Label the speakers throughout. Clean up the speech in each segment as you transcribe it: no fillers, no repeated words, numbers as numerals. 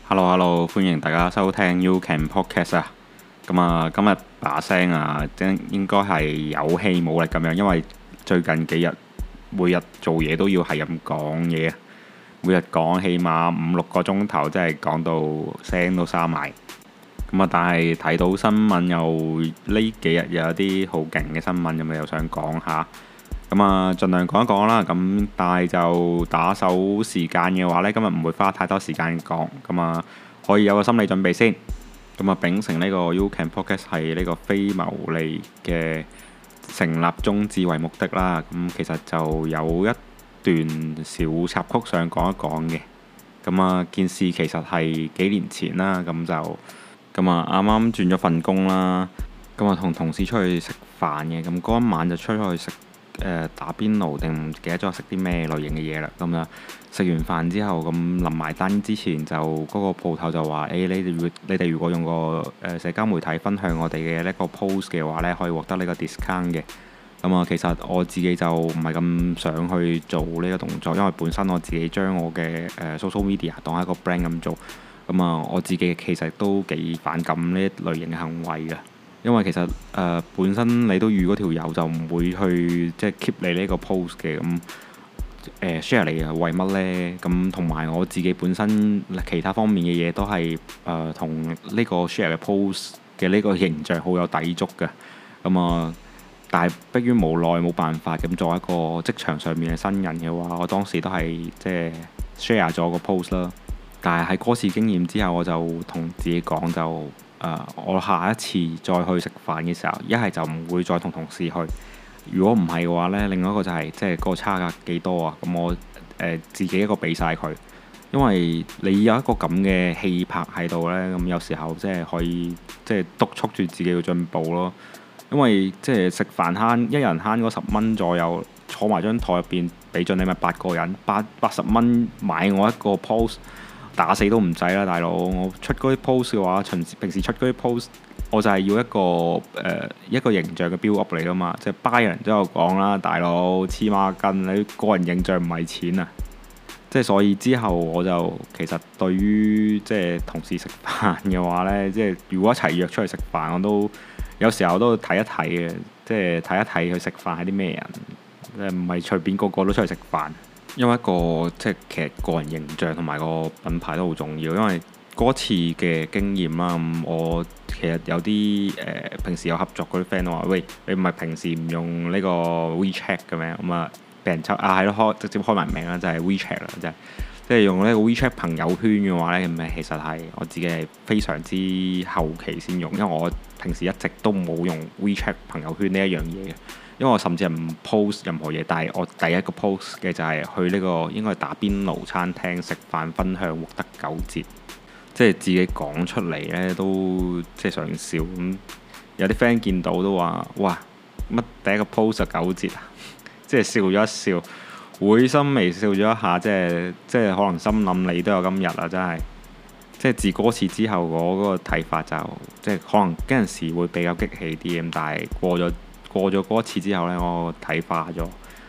Speaker 1: Hello，歡迎大家收聽 You Can Podcast 啊。今日把聲啊，應該係有氣冇力咁樣，因為最近幾日每日做嘢都要係咁講嘢，每日講起碼5-6個鐘頭，真係講到聲都沙埋。但係睇到新聞又呢幾日有啲好勁嘅新聞，咁又想講下。盡量講一講啦。但係就打手時間嘅話呢，今日唔會花太多時間講。可以有個心理準備先。秉承呢個 You Can Podcast 係呢個非牟利嘅成立宗旨為目的啦。其實就有一段小插曲想講一講嘅。件事其實係幾年前啦。啱啱轉咗份工啦。同同事出去食飯嘅。嗰一晚就出去食打邊爐定唔記得咗食啲咩類型嘅嘢啦。食完飯之後，臨埋單之前就嗰個鋪頭就話：你哋如果用個社交媒體分享我哋嘅呢個 post 嘅話呢，可以獲得呢個 discount 嘅。其實我自己就唔係咁想去做呢個動作，因為本身我自己將我嘅social media 當係一個 brand 咁做。我自己其實都幾反感呢一類型嘅行為嘅。因為其實本身你都預嗰條友就唔會去即係 keep 你呢個 post 嘅。share 嚟係為乜呢？同埋我自己本身其他方面嘅嘢都係同呢個 share 嘅 post 嘅呢個形象好有抵觸嘅。但係迫於無奈冇辦法，作為一個職場上面嘅新人嘅話，我當時都係即係 share 咗個 post 啦。但係喺嗰次經驗之後，我就同自己講就我下一次再去食飯嘅時候，一係就唔會再同同事去。如果唔係嘅話呢，另外一個就係即係個差價幾多啊？我自己一個俾晒佢，因為你有一個咁嘅氣魄喺度呢，有時候即係可以即係督促住自己要進步咯。因為即係食飯一人慳嗰10蚊左右，坐埋張台入邊俾盡你咪8個人80蚊買我一個 post。打死都唔制啦，大佬！我出嗰啲 post 嘅話，平時出嗰啲 post，我就係要一個形象嘅 build up 嚟噶嘛。即係 buy 人都有講啦，大佬黐孖筋，你個人形象唔係錢啊！即係所以之後我就其實對於即係同事食飯嘅話呢，即係如果一齊約出去食飯，我都有時候都睇一睇嘅，即係睇一睇佢食飯係啲咩人，唔係隨便個個都出去食飯。因為即係其實個人形象同埋個品牌都好重要。因為嗰次嘅經驗啦，我其實有啲平時有合作嗰啲 friend 都話：喂，你唔係平時唔用呢個 WeChat 嘅咩？俾人抽係咯，直接開埋名啦，就係 WeChat 啦，即係用呢個 WeChat 朋友圈嘅話呢，其實係我自己係非常之後期先用，因為我平時一直都冇用 WeChat 朋友圈呢一樣嘢嘅。因為我甚至係唔 post 任何嘢，但係我第一個 post 嘅就係去呢個應該係打邊爐餐廳食飯分享獲得9折，即係自己講出嚟呢都即係想笑咁。有啲 friend 見到都話：哇，乜第一個 post 就9折啊！即係笑咗一笑，會心微笑咗一下，即係可能心諗你都有今日啦，真係。即係自嗰次之後，我嗰個睇法就即係可能嗰陣時會比較激氣啲咁，但係過咗嗰一次之後呢，我睇化咗。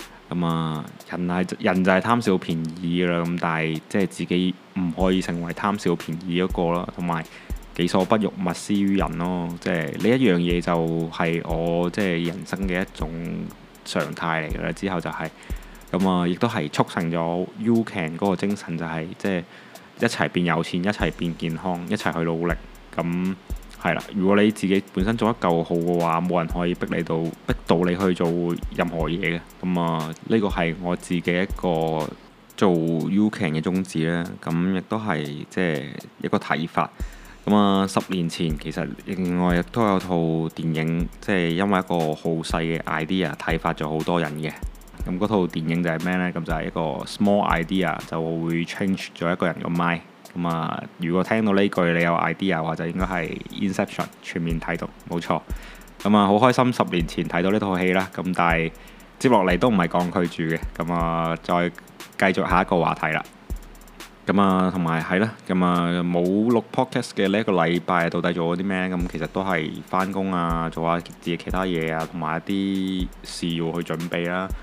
Speaker 1: 人就係貪小便宜㗎啦。但係即係自己唔可以成為貪小便宜嗰個咯。同埋己所不欲，勿施於人咯。即係呢一樣嘢就係我即係人生嘅一種常態嚟㗎啦。之後就係亦都係促成咗 You Can 嗰個精神，就係即係一齊變有錢，一齊變健康，一齊去努力。係啦，如果你自己本身做得夠好嘅話，冇人可以逼到你去做任何嘢嘅。呢個係我自己一個做 You Can 嘅宗旨啦。亦都係即係一個睇法。10年前其實另外亦都有套電影，即係因為一個好細嘅 idea 啟發咗好多人嘅。嗰套電影就係咩呢？就係一個 small idea 就會 change 咗一個人個 mind。如果聽到呢句你有 idea 話，就應該係 Inception 全面睇到，冇錯。好開心10年前睇到呢套戲啦。但係接落嚟都唔係講佢住嘅。再繼續下一個話題啦。同埋係啦。冇錄 podcast 嘅呢一個禮拜到底做咗啲咩？其實都係翻工啊，做下自己其他嘢啊，同埋一啲事要去準備啦。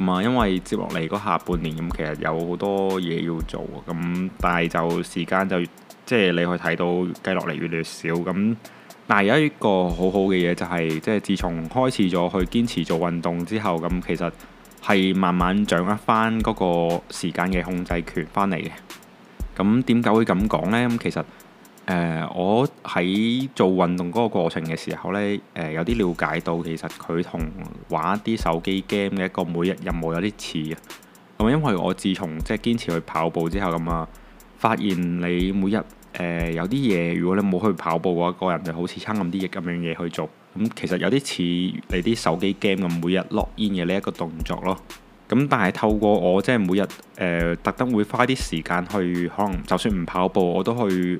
Speaker 1: 咁因為接落嚟嗰下半年咁，其實有好多嘢要做咁，但係就時間就即係你去睇到計落嚟越嚟越少咁。但係有一個好好嘅嘢就係、即係自從開始咗去堅持做運動之後，咁其實係慢慢掌握翻嗰個時間嘅控制權翻嚟嘅。咁點解會咁講呢？咁其實我喺做運動嗰個過程嘅時候呢，有啲了解到其實佢同玩一啲手機 game 嘅一個每日任務有啲似啊。咁因為我自從即係堅持去跑步之後咁發現你每日有啲嘢，如果你冇去跑步嘅話，個人就好似撐咁啲咁樣嘢去做。咁其實有啲似你啲手機 game 咁每日 log in 嘅呢一個動作咯。咁但係透過我即係每日特登會花啲時間去，可能就算唔跑步，我都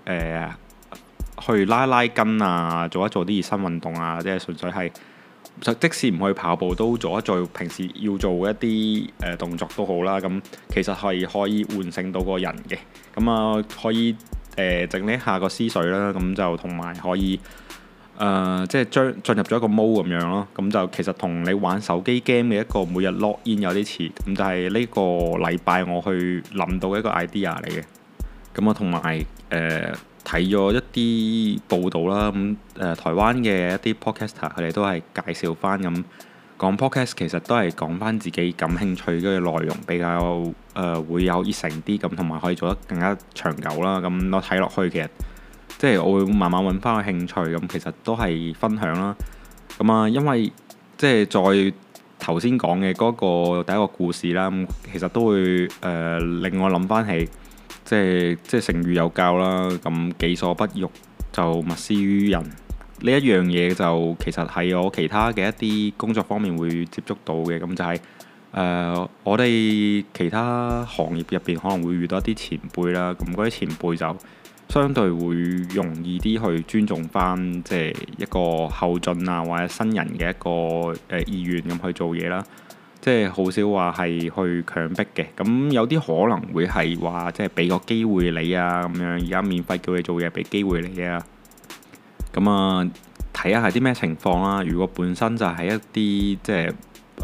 Speaker 1: 去拉拉筋啊，做一做啲熱身運動啊，即係純粹係即使唔去跑步，都做一做平時要做嘅一啲動作都好啦。咁其實係可以喚醒到個人嘅。咁可以整理下個思緒啦。咁就同埋可以即係進入咗一個 mode 咁樣咯。咁就其實同你玩手機 game 嘅一個每日 log in 有啲似。咁就係呢個禮拜我去諗到一個 idea 嚟嘅。咁同埋睇咗一啲報道啦。咁台灣嘅一啲 podcaster 佢哋都係介紹翻咁講 podcast， 其實都係講翻自己感興趣嘅內容，比較會有熱誠啲咁，同埋可以做得更加長久啦。咁我睇落去其實即係我會慢慢揾翻個興趣，咁其實都係分享啦。咁因為即係再頭先講嘅嗰個第一個故事啦，咁其實都會令我諗翻起，即係成語有教啦。咁己所不欲，就勿施於人。呢一樣嘢就其實係我其他嘅一啲工作方面會接觸到嘅。咁就係我哋其他行業入邊可能會遇到一啲前輩啦。咁嗰啲前輩就相對會容易啲去尊重翻，即係一個後進啊或者新人嘅一個意願咁去做嘢啦。即係好少話係去強迫嘅。咁有啲可能會係話即係俾個機會你啊咁樣，而家免費叫你做嘢，俾機會你啊。咁睇下係啲咩情況啦。如果本身就係一啲即係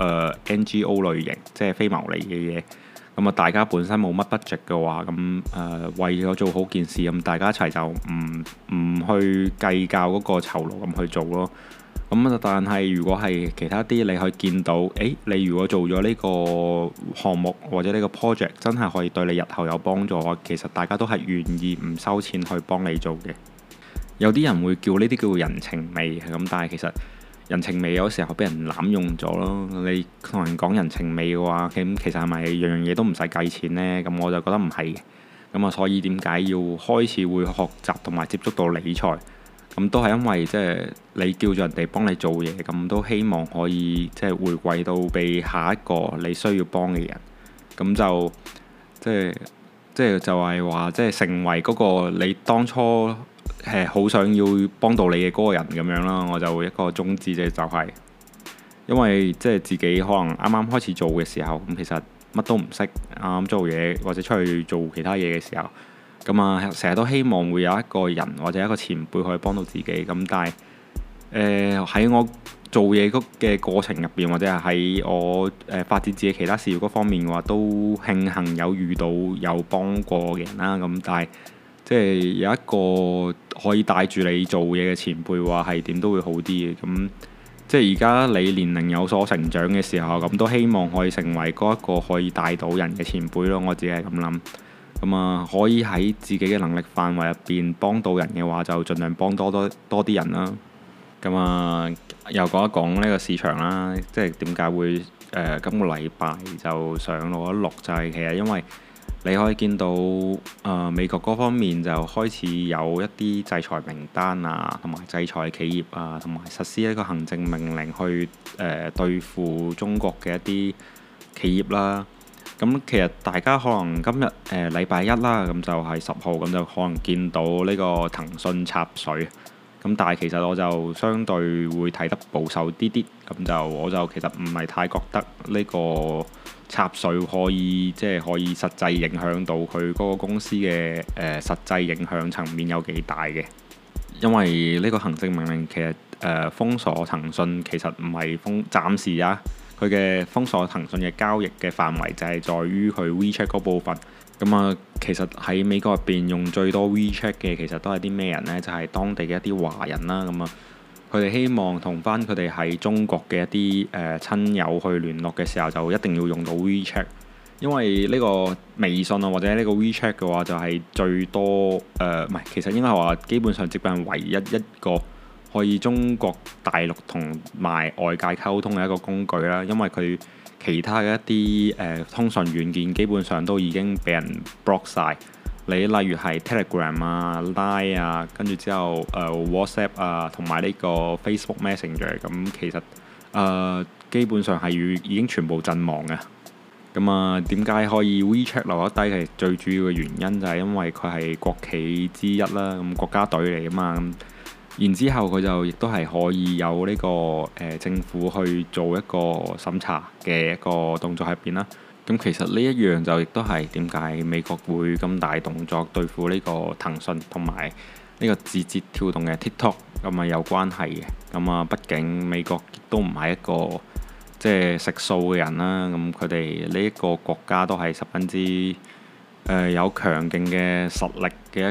Speaker 1: NGO 類型，即係非牟利嘅嘢，咁大家本身冇乜 budget 嘅話，咁為咗做好件事，咁大家一齊就唔去計較嗰個酬勞咁去做咯。咁但係如果係其他啲，你可以見到，你如果做咗呢個項目或者呢個 project 真係可以對你日後有幫助嘅話，其實大家都係願意唔收錢去幫你做嘅。有啲人會叫呢啲叫人情味咁，但係其實人情味有時候俾人濫用咗咯。你同人講人情味嘅話，咁其實係咪樣樣嘢都唔使計錢呢？咁我就覺得唔係嘅。咁所以點解要開始會學習同埋接觸到理財？咁都係因為即係你叫咗人哋幫你做嘢，咁都希望可以即係回饋到俾下一個你需要幫嘅人。咁就即係話即係成為嗰個你當初好想要幫到你嘅嗰個人咁樣啦。我就一個宗旨就係因為即係自己可能啱啱開始做嘅時候，咁其實乜都唔識，啱啱做嘢或者出去做其他嘢嘅時候，咁成日都希望會有一個人或者一個前輩可以幫到自己。咁但係喺我做嘢嘅過程入邊，或者係喺我發展自己其他事業嗰方面嘅話，都慶幸有遇到有幫過嘅人啦。咁但係即係有一個可以帶住你做嘢嘅前輩話係點都會好啲嘅。咁即係而家你年齡有所成長嘅時候，咁都希望可以成為嗰一個可以帶到人嘅前輩咯。我自己係咁諗。咁可以喺自己嘅能力範圍入邊幫到人嘅話，就盡量幫多啲人啦。咁又講一講呢個市場啦，即係點解會今個禮拜就上路一錄，就係其實因為你可以見到美國嗰方面就開始有一啲制裁名單啊，同埋制裁企業啊，同埋實施一個行政命令去對付中國嘅一啲企業啦。咁其實大家可能今日禮拜一啦，咁就係10號，咁就可能見到呢個騰訊插水。咁但係其實我就相對會睇得保守啲啲，咁我就其實唔係太覺得呢個插水可以實際影響到佢嗰個公司嘅實際影響層面有幾大嘅。因為呢個行政命令其實封鎖騰訊其實唔係暫時啊。 佢嘅封鎖騰訊嘅交易嘅範圍就係在於佢 WeChat 嗰部分。咁啊，其實喺美國入邊用最多 WeChat 嘅其實都係啲咩人呢？就係當地嘅一啲華人啦。咁啊，佢哋希望同翻佢哋喺中國嘅一啲親友去聯絡嘅時候，就一定要用到 WeChat，因為呢個微信啊或者呢個 WeChat 嘅話就係最多唔係，其實應該係話基本上接近唯一一個可以中國大陸同埋外界溝通嘅一個工具啦，因為佢其他嘅一啲通訊軟件基本上都已經俾人 block 晒。你例如係 Telegram 啊、Line 啊，跟住之後WhatsApp 啊，同埋呢個 Facebook Messenger，咁其實基本上係已經全部陣亡嘅。咁啊，點解可以 WeChat 留得低？係最主要嘅原因就係因為佢係國企之一啦，咁國家隊嚟啊嘛。然之後佢就亦都係可以有呢個政府去做一個審查嘅一個動作喺入邊啦。咁其實呢一樣就亦都係點解美國會咁大動作對付呢個騰訊同埋呢個字節跳動嘅 TikTok 咁啊有關係嘅。咁啊，畢竟美國亦都唔係一個即係食素嘅人啦。咁佢哋呢一個國家都係十分之有強勁嘅實力嘅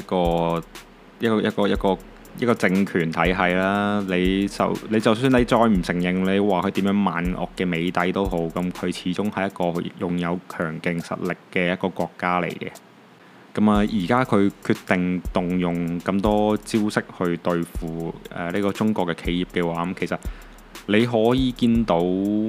Speaker 1: 一個政權體系啦。你就算你再唔承認，你話佢點樣萬惡嘅美帝都好，咁佢始終係一個擁有強勁實力嘅一個國家嚟嘅。咁啊，而家佢決定動用咁多招式去對付呢個中國嘅企業嘅話，咁其實你可以見到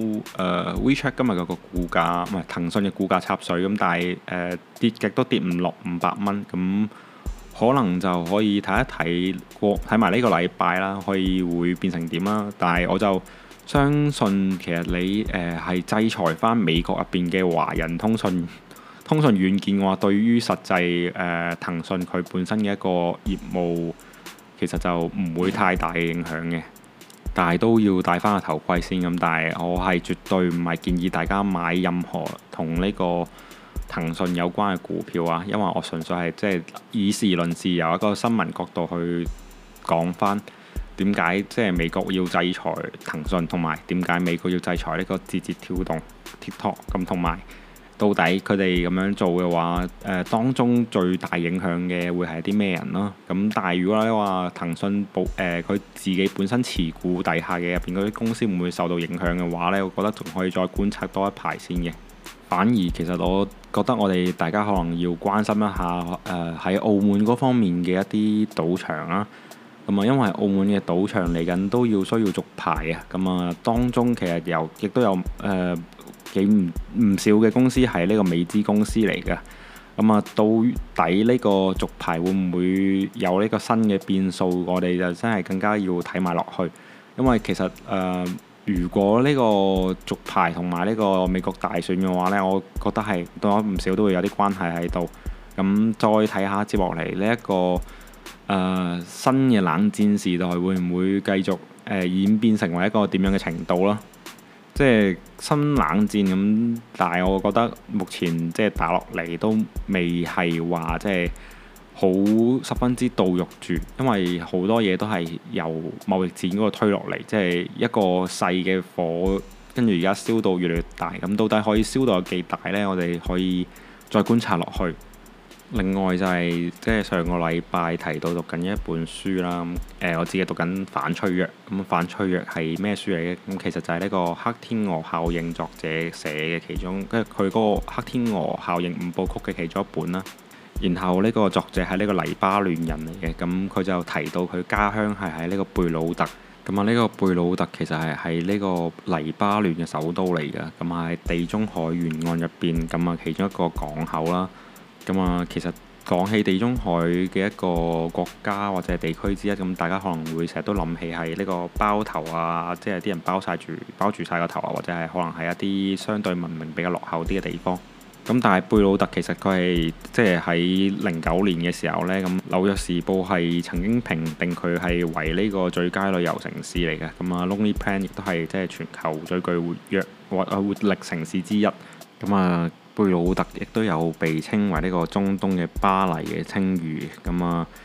Speaker 1: WeChat 今日嗰個股價唔係騰訊嘅股價插水咁，但係跌極都跌唔落500蚊咁。可能就可以睇一睇埋呢個禮拜啦，可以會變成點啦。但係我就相信其實你係制裁翻美國入邊嘅華人通訊軟件嘅話，對於實際騰訊佢本身嘅一個業務其實就唔會太大嘅影響嘅。但係都要戴翻個頭盔先咁。但係我係絕對唔係建議大家買任何同呢個騰訊有關嘅股票啊，因為我純粹係即係以事論事，由一個新聞角度去講翻點解即係美國要制裁騰訊，同埋點解美國要制裁呢個字節跳動 TikTok 咁，同埋到底佢哋咁樣做嘅話，當中最大影響嘅會係啲咩人咯？咁但係如果你話騰訊佢自己本身持股底下嘅入邊嗰啲公司會唔會受到影響嘅話呢，我覺得仲可以再觀察多一排先嘅。反而其實我覺得我哋大家可能要關心一下喺澳門嗰方面嘅一啲賭場啦。咁啊，因為澳門嘅賭場嚟緊都需要續牌啊。咁啊，當中其實亦都有幾唔少嘅公司係呢個美資公司嚟嘅。咁啊，到底呢個續牌會唔會有呢個新嘅變數？我哋就真係更加要睇埋落去，因為其實如果呢個續牌同埋呢個美國大選嘅話呢，我覺得係多唔少都會有啲關係喺度。咁再睇下接落嚟呢一個新嘅冷戰時代會唔會繼續演變成為一個點樣嘅程度啦？即係新冷戰咁，但係我覺得目前即係打落嚟都未係話即係好十分之到肉住，因為好多嘢都係由貿易戰嗰個推落嚟，即係一個細嘅火，跟住而家燒到越嚟越大。咁到底可以燒到有幾大呢？我哋可以再觀察落去。另外就係即係上個禮拜提到讀緊一本書啦。我自己讀緊反脆弱。咁反脆弱係咩書嚟嘅？咁其實就係呢個黑天鵝效應作者寫嘅其中，跟住佢嗰個黑天鵝效應5部曲嘅其中一本啦。然後呢個作者係呢個黎巴嫩人嚟嘅，咁佢就提到佢家鄉係喺呢個貝魯特。咁啊，呢個貝魯特其實係喺呢個黎巴嫩嘅首都嚟嘅，咁喺地中海沿岸入邊，咁啊其中一個港口啦。咁啊，其實講起地中海嘅一個國家或者係地區之一，咁大家可能會成日都諗起係呢個包頭啊，即係啲人包住晒個頭啊，或者係可能係一啲相對文明比較落後啲嘅地方。咁但係貝魯特其實佢係即係喺09年嘅時候呢，咁紐約時報係曾經評定佢係為呢個最佳旅遊城市嚟嘅。咁啊，Lonely Planet 亦都係即係全球最具活力城市之一。咁啊，貝魯特亦都有被稱為呢個中東嘅巴黎嘅稱譽。咁啊，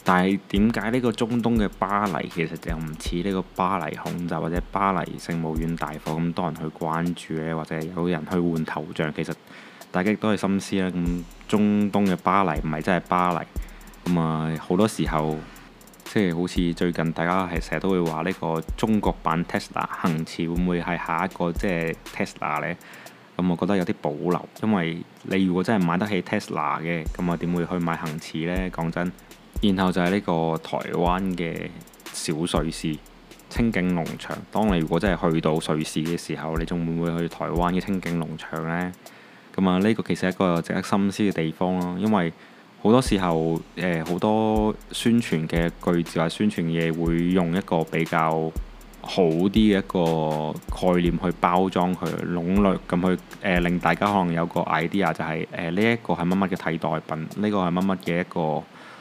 Speaker 1: 但係點解呢個中東嘅巴黎其實就唔似呢個巴黎恐襲或者巴黎聖母院大火咁多人去關注呢？或者有人去換頭像？其實大家亦都係心思啦。咁中東嘅巴黎唔係真係巴黎。咁好多時候即係好似最近大家係成日都會話呢個中國版 Tesla 恆馳會唔會係下一個即係 Tesla 呢？咁我覺得有啲保留，因為你如果真係買得起 Tesla 嘅，咁點會去買恆馳呢？講真。然後就係呢個台灣嘅小瑞士清境農場。當你如果真係去到瑞士嘅時候，你仲會唔會去台灣嘅清境農場呢？呢個其實係一個值得深思嘅地方咯，因為好多時候好多宣傳嘅句子或宣傳嘢會用一個比較好啲嘅一個概念去包裝佢，籠絡咁去令大家可能有個 idea 就係呢一個係乜乜嘅替代品，呢個係乜乜嘅一個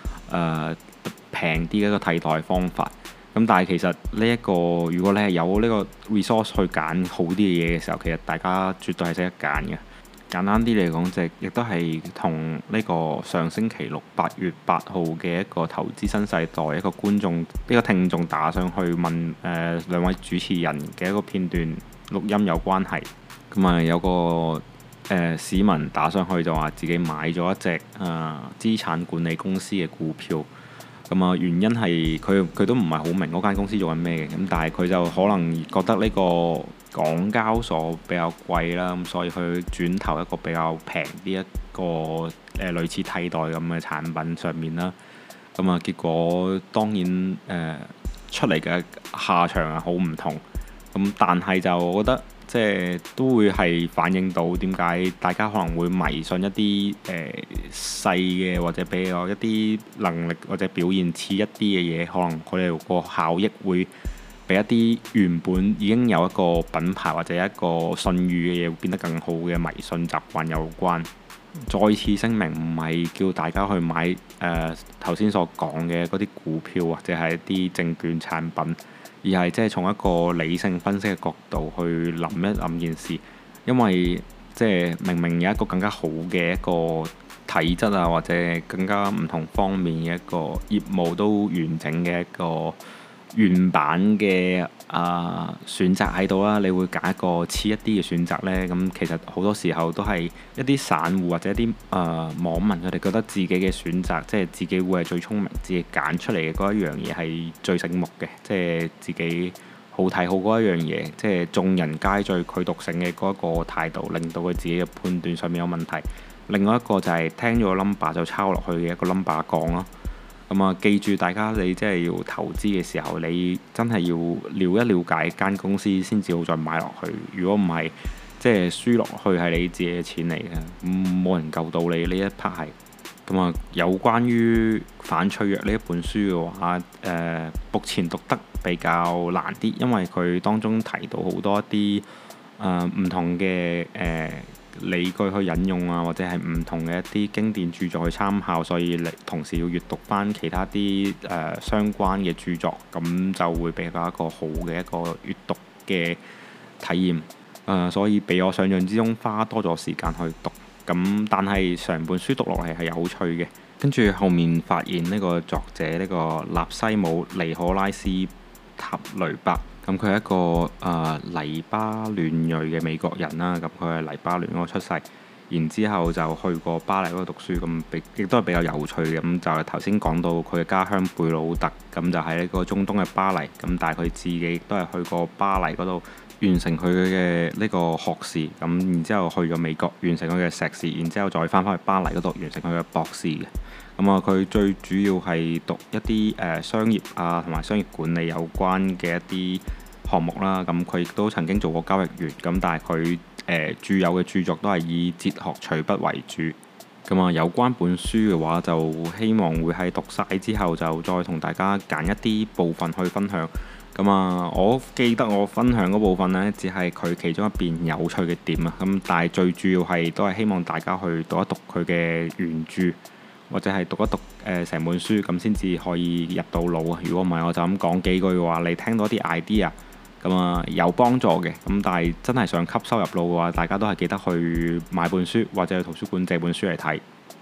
Speaker 1: 平啲嘅一個替代方法。咁但係其實呢一個如果你係有呢個 resource 去揀好啲嘅嘢嘅時候，其實大家絕對係識得揀嘅。簡單啲嚟講，就亦都係同呢個上星期六8月8號嘅一個投資新世代一個觀眾呢個聽眾打上去問兩位主持人嘅一個片段錄音有關係。有個市民打上去就話自己買咗一隻資產管理公司嘅股票。原因係佢都唔係好明嗰間公司做緊咩嘅，咁但係佢就可能覺得呢個港交所比較貴啦，咁所以佢轉投一個比較平啲一個類似替代咁嘅產品上面啦。結果當然出嚟嘅下場係好唔同。但係就我覺得即係都會係反映到點解大家可能會迷信一啲細嘅或者比較一啲能力或者表現似一啲嘅嘢，可能佢哋個效益會比一啲原本已經有一個品牌或者一個信譽嘅嘢會變得更好嘅迷信習慣有關。再次聲明，唔係叫大家去買頭先所講嘅嗰啲股票或者係一啲證券產品，而係即係從一個理性分析嘅角度去諗一諗件事。因為即係明明有一個更加好嘅一個體質啊，或者更加唔同方面嘅一個業務都完整嘅一個原版嘅選擇喺度啦，你會揀一個似一啲嘅選擇呢？咁其實好多時候都係一啲散戶或者一啲網民，佢哋覺得自己嘅選擇，即係自己會係最聰明，自己揀出嚟嘅嗰一樣嘢係最醒目嘅，即係自己好睇好嗰一樣嘢，即係眾人皆醉佢獨醒嘅嗰一個態度，令到佢自己嘅判斷上面有問題。另外一個就係聽咗個 number 就抄落去嘅一個 number 講咯。記住大家你即係要投資嘅時候，你真係要了解間公司先至好再買落去。如果唔係，即係輸落去係你自己嘅錢嚟嘅，冇人救到你呢一 part 係。有關於反脆弱呢一本書嘅話，目前讀得比較難啲，因為佢當中提到好多一啲唔同嘅理據去引用啊，或者係唔同嘅一啲經典著作去參考，所以你同時要閱讀翻其他啲相關嘅著作，咁就會比較一個好嘅一個閱讀嘅體驗。所以比我想象之中花多咗時間去讀。但係成本書讀落嚟係有趣嘅。跟住後面發現呢個作者呢個納西姆尼可拉斯塔雷伯。佢係一個黎巴嫩裔嘅美國人啦，佢係黎巴嫩嗰度出世，然之後就去過巴黎嗰度讀書，亦都係比較有趣嘅。就係頭先講到佢嘅家鄉貝魯特，就係呢個中東嘅巴黎，但係佢自己亦都係去過巴黎嗰度完成佢嘅呢個學士，然之後去咗美國完成佢嘅碩士，然之後再翻返去巴黎嗰度完成佢嘅博士嘅。佢最主要係讀一啲商業啊同埋商業管理有關嘅一啲項目啦。佢亦都曾經做過交易員，但係佢著有嘅著作都係以哲學隨筆為主。有關本書嘅話，就希望會喺讀晒之後就再同大家揀一啲部分去分享。我記得我分享嗰部分呢，只係佢其中一邊有趣嘅點啊。但係最主要係都係希望大家去讀一讀佢嘅原著，或者係讀一讀成本書，咁先至可以入到腦啊。如果唔係，我就咁講幾句嘅話，你聽到啲 idea，有幫助嘅。但係真係想吸收入腦嘅話，大家都係記得去買本書或者去圖書館借本書嚟睇。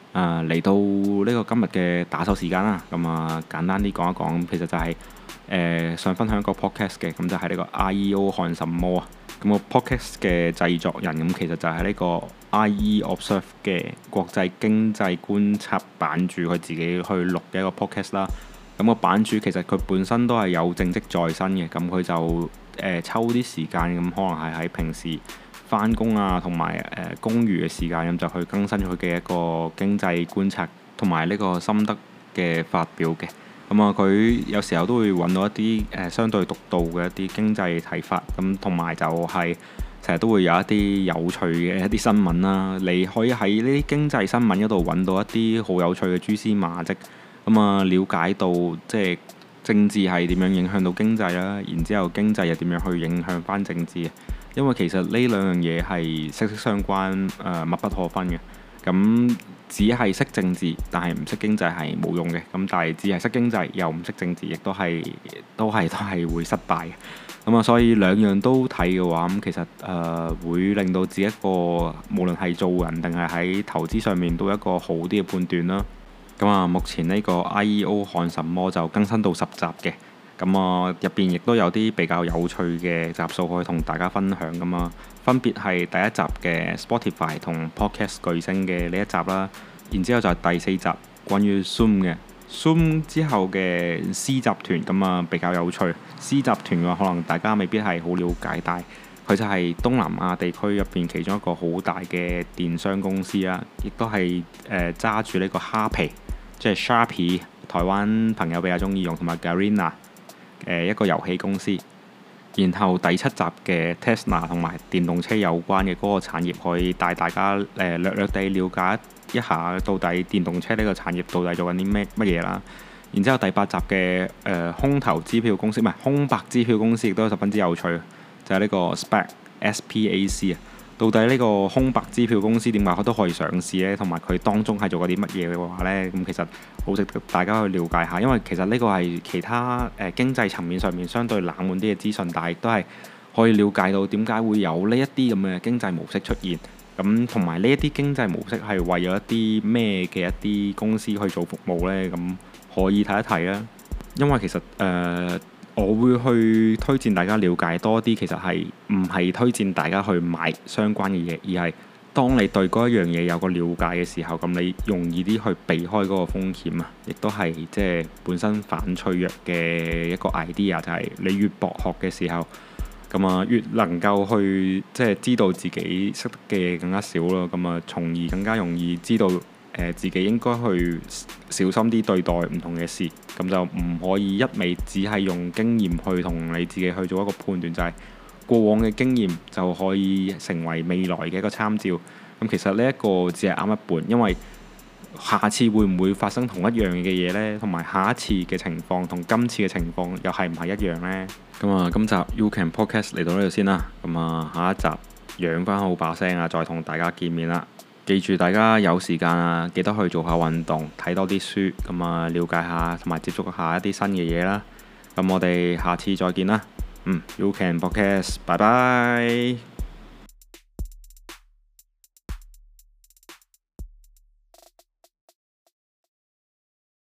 Speaker 1: 嚟到呢個今日嘅打手時間啦，咁簡單啲講一講，其實就係想分享一個 podcast 嘅，咁就係呢個 IEO 看什麼啊？咁個 podcast 嘅製作人咁其實就係呢個 IE Observe 嘅國際經濟觀察版主，佢自己去錄嘅一個 podcast 啦。咁個版主其實佢本身都係有正職在身嘅，咁佢就抽啲時間咁，可能係喺平時返工啊，同埋公餘嘅時間咁就去更新佢嘅一個經濟觀察同埋呢個心得嘅發表嘅。咁佢有時候都會揾到一啲相對獨到嘅一啲經濟睇法，咁同埋就係成日都會有一啲有趣嘅一啲新聞啦。你可以喺呢啲經濟新聞嗰度揾到一啲好有趣嘅蛛絲馬跡。了解到即係政治係點樣影響到經濟啦，然之後經濟又點樣去影響翻政治。因為其實呢兩樣嘢係息息相關，密不可分嘅。咁只係識政治，但係唔識經濟係冇用嘅。咁但係只係識經濟又唔識政治，亦都係會失敗嘅。所以兩樣都睇嘅話，咁其實會令到自己一個無論係做人定係喺投資上面都有一個好啲嘅判斷啦。目前呢個 IEO 看什麼就更新到10集嘅，入邊亦都有啲比較有趣嘅集數可以同大家分享噶嘛。分別係第一集嘅 Spotify 同 Podcast 巨星嘅呢一集啦，然之後就係第4集關於 Zoom 嘅 Zoom 之後嘅 C 集團，比較有趣。C 集團嘅話可能大家未必係好了解，但係佢就係東南亞地區入邊其中一個好大嘅電商公司啦，亦都係揸住呢個蝦皮。即係 Sharpie， 台灣朋友比較中意用，同埋 Garena 一個遊戲公司。然後第7集嘅 Tesla 同埋電動車有關嘅嗰個產業，可以帶大家略略地了解一下到底電動車呢個產業到底做緊啲乜嘢啦。然之後第8集嘅空頭支票公司，唔係空白支票公司，亦都十分之有趣，就係呢個 SPAC 啊。到底呢個空白支票公司點解佢都可以上市呢？同埋佢當中係做過啲乜嘢嘅話呢？咁其實好值得大家去了解下，因為其實呢個係其他經濟層面上面相對冷門啲嘅資訊，但係亦都係可以了解到點解會有呢一啲咁嘅經濟模式出現。咁同埋呢一啲經濟模式係為咗一啲咩嘅一啲公司去做服務呢？咁可以睇一睇啦。因為其實我會去推薦大家了解多啲，其實係唔係推薦大家去買相關嘅嘢，而係當你對嗰一樣嘢有個了解嘅時候，咁你容易啲去避開嗰個風險啊，亦都係即係本身反脆弱嘅一個 idea，就係你越博學嘅時候，越能夠去即係知道自己識得嘅嘢更加少咯，從而更加容易知道自己應該去小心啲對待唔同嘅事，咁就唔可以一味只係用經驗去同你自己去做一個判斷，就係過往嘅經驗就可以成為未來嘅一個參照。咁其實呢一個只係啱一半，因為下次會唔會發生同一樣嘅嘢呢？同埋下一次嘅情況同今次嘅情況又係唔係一樣呢？今集 You Can Podcast 嚟到呢度先啦。下一集養翻好把聲啊，再同大家見面啦。記住大家有時間啊，記得去做下運動，睇多啲書，了解下同埋接觸下一啲新嘅嘢啦。我哋下次再見啦。You Can Podcast，拜拜。